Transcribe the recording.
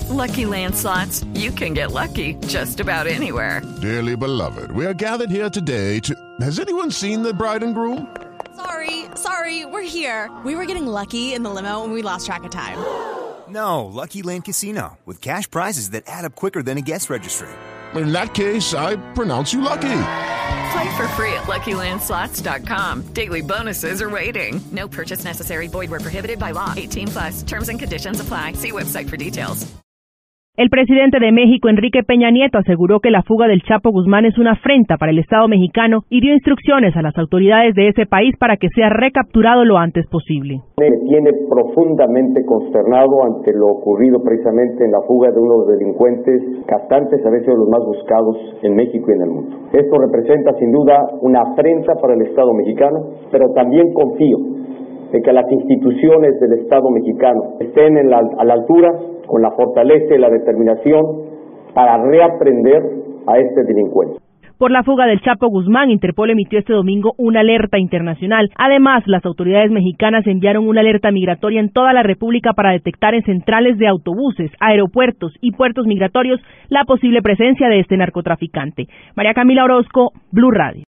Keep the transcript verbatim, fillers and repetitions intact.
Lucky Land Slots, you can get lucky just about anywhere. Dearly beloved, we are gathered here today to... Has anyone seen the bride and groom? Sorry, sorry, we're here. We were getting lucky in the limo and we lost track of time. No, Lucky Land Casino, with cash prizes that add up quicker than a guest registry. In that case, I pronounce you lucky. Play for free at Lucky Land Slots dot com. Daily bonuses are waiting. No purchase necessary. Void where prohibited by law. eighteen plus. Terms and conditions apply. See website for details. El presidente de México, Enrique Peña Nieto, aseguró que la fuga del Chapo Guzmán es una afrenta para el Estado mexicano y dio instrucciones a las autoridades de ese país para que sea recapturado lo antes posible. Me tiene profundamente consternado ante lo ocurrido precisamente en la fuga de unos delincuentes castantes, a veces de los más buscados en México y en el mundo. Esto representa sin duda una afrenta para el Estado mexicano, pero también confío en que las instituciones del Estado mexicano estén en la, a la altura, con la fortaleza y la determinación para reaprender a este delincuente. Por la fuga del Chapo Guzmán, Interpol emitió este domingo una alerta internacional. Además, las autoridades mexicanas enviaron una alerta migratoria en toda la República para detectar en centrales de autobuses, aeropuertos y puertos migratorios la posible presencia de este narcotraficante. María Camila Orozco, Blue Radio.